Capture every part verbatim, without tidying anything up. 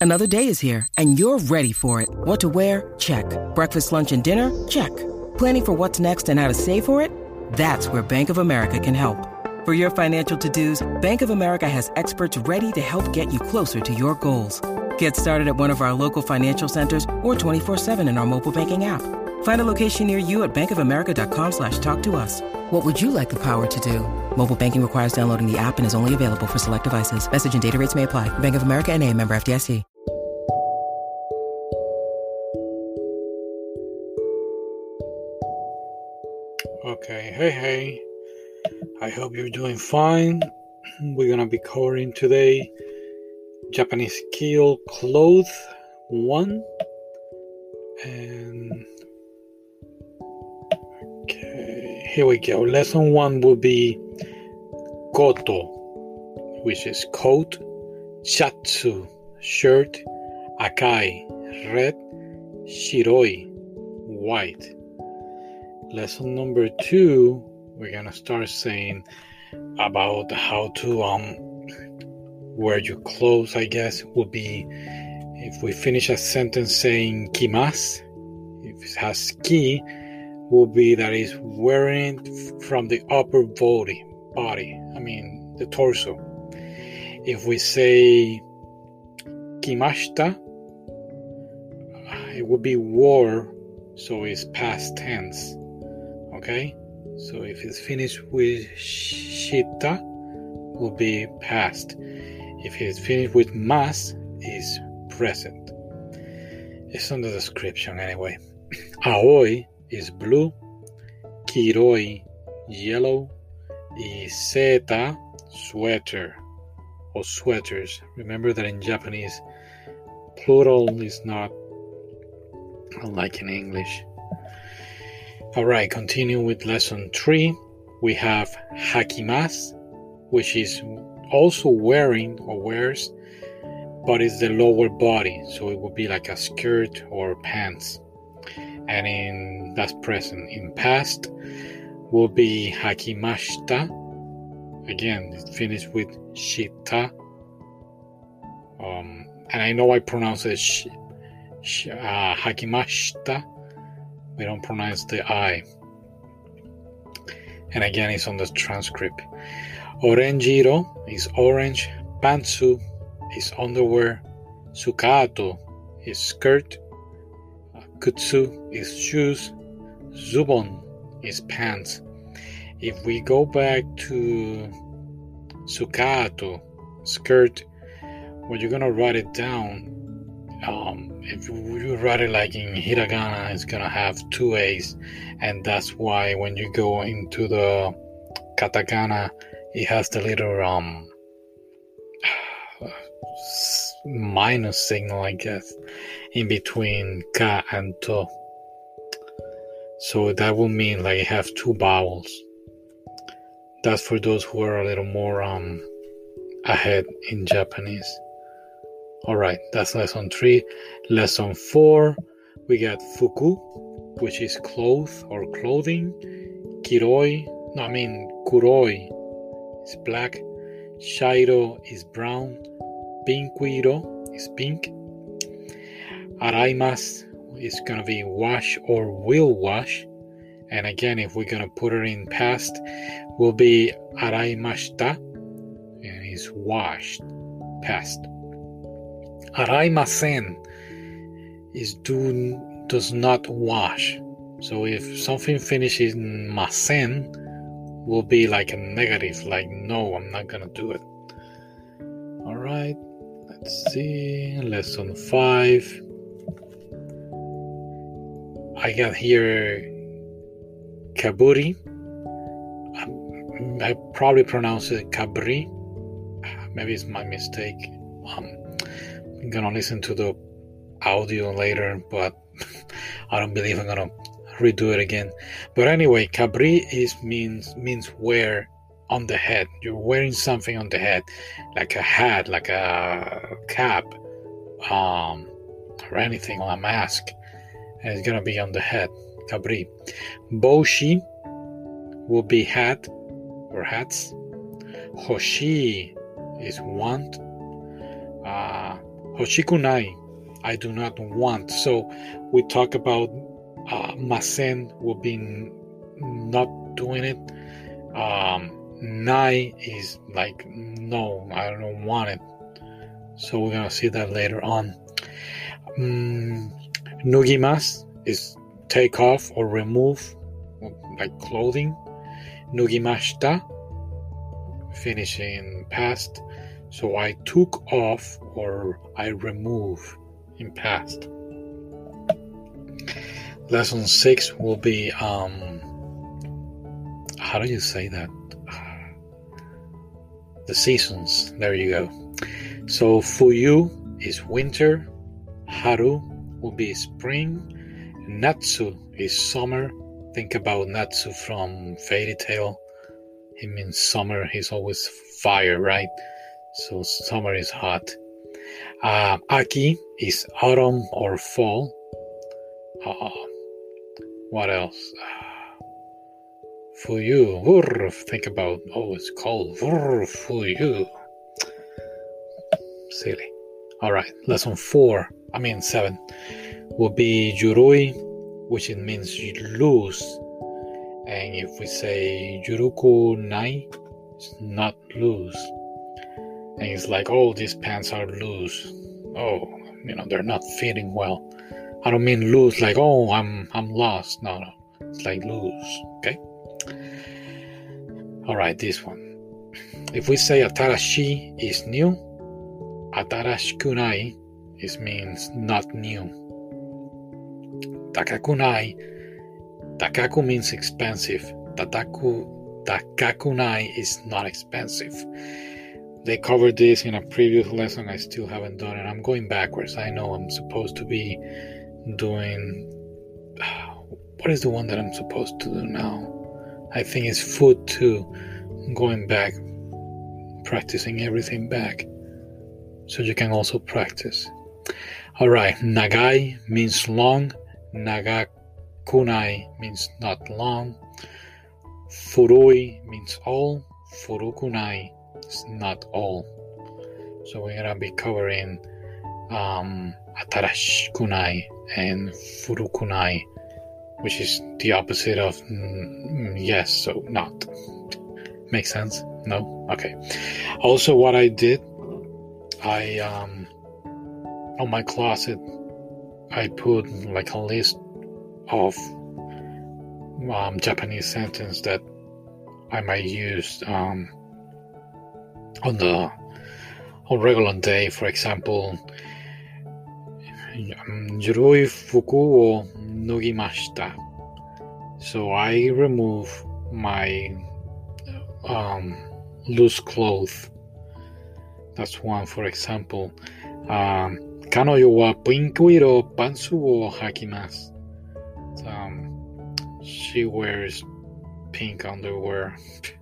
Another day is here, and you're ready for it. What to wear? Check. Breakfast, lunch, and dinner? Check. Planning for what's next and how to save for it? That's where Bank of America can help. For your financial to-dos, Bank of America has experts ready to help get you closer to your goals. Get started at one of our local financial centers or twenty-four seven in our mobile banking app. Find a location near you at bankofamerica.com slash talk to us. What would you like the power to do? Mobile banking requires downloading the app and is only available for select devices. Message and data rates may apply. Bank of America N A, member F D I C. Okay, hey, hey. I hope you're doing fine. We're gonna be covering today Japanese Skill Cloth one. And okay, here we go. Lesson one will be koto, which is coat, shatsu, shirt, akai, red, shiroi, white. Lesson number two, we're gonna start saying about how to um wear your clothes, I guess, will be if we finish a sentence saying kimasu, if it has ki, will be that is wearing it from the upper body, body, I mean the torso. If we say kimashita, it would be wore, so it's past tense. Okay? So if it's finished with shita, will be past. If it's finished with mas, is present. It's on the description anyway. Aoi is blue, kiroi yellow, iseta sweater or sweaters. Remember that in Japanese, plural is not like in English. Alright, continue with lesson three. We have hakimasu, which is also wearing or wears, but it's the lower body, so it would be like a skirt or pants. And in that's present. In past will be hakimashita. Again, it's finished with shita. Um, and I know I pronounce it sh, sh, uh, hakimashita. We don't pronounce the I. And again, it's on the transcript. Orenjiro is orange. Pantsu is underwear. Sukato is skirt. Kutsu is shoes. Zubon is pants. If we go back to Sukato, skirt, when you're going to write it down, um, if you write it like in hiragana, it's going to have two A's. And that's why when you go into the katakana, it has the little um minus signal, I guess, in between ka and to. So that will mean like you have two vowels. That's for those who are a little more um ahead in Japanese. Alright, that's lesson three. Lesson four, we got fuku, which is cloth or clothing. Kiroi, no, I mean kuroi is black. Shairo is brown. Pinkuiro is pink. Araimasu is gonna be wash or will wash. And again, if we're gonna put it in past, will be araimashita, and it's washed, past. Araimasen is do does not wash. So if something finishes in masen, will be like a negative, like no, I'm not gonna do it. Alright, let's see. Lesson five. I got here kaburi. I probably pronounce it kabri. Maybe it's my mistake. Um, I'm gonna listen to the audio later, but I don't believe I'm gonna redo it again. But anyway, kabri is means means wear on the head. You're wearing something on the head, like a hat, like a cap, um, or anything, or a mask. And it's gonna be on the head. Kabri. Boshi will be hat or hats. Hoshi is want. Uh, Hoshikunai, I do not want. So we talk about uh, masen will be n- not doing it. Um, nai is like no, I don't want it. So we're gonna see that later on. Um, nugimas is take off or remove, like clothing. Nugimashita, finishing past. So I took off or I remove in past. Lesson six will be um how do you say that? The seasons. There you go. So Fuyu is winter, Haru will be spring, Natsu is summer. Think about Natsu from Fairy Tail. It means summer. He's always fire, right? So summer is hot. Uh, Aki is autumn or fall. Uh, what else? Uh, Fuyu. Vurr, think about, oh, it's cold. Vurr, Fuyu. Silly. All right, lesson four, I mean seven, will be Yurui, which it means lose. And if we say Yuruku nai, it's not loose. And it's like, oh, these pants are loose. Oh, you know, they're not fitting well. I don't mean loose like, oh, I'm I'm lost. No, no. It's like loose, okay? All right, this one. If we say atarashi is new, atarashikunai is means not new. Takakunai, takaku means expensive. Tataku, takakunai is not expensive. They covered this in a previous lesson. I still haven't done it. I'm going backwards. I know I'm supposed to be doing... What is the one that I'm supposed to do now? I think it's food too. I'm going back, practicing everything back. So you can also practice. Alright, nagai means long. Nagakunai means not long. Furui means all. Furukunai is not all. So we're gonna be covering um, atarashikunai and furukunai, which is the opposite of mm, yes, so not. Makes sense? No? Okay. Also, what I did, I um, on my closet, I put like a list of um, Japanese sentences that I might use um, on the on regular day. For example, Yurui fuku wo nugimashita. So I remove my um, loose clothes. That's one, for example. Um, Kanoyo wa pinku iro pantsu wo hakimasu. Um, she wears pink underwear.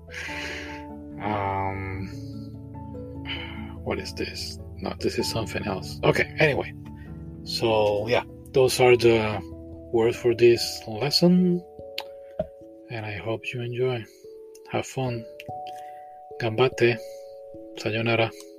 um, what is this? No, this is something else. Okay, anyway. So, yeah, those are the words for this lesson. And I hope you enjoy. Have fun. Ganbatte. Sayonara.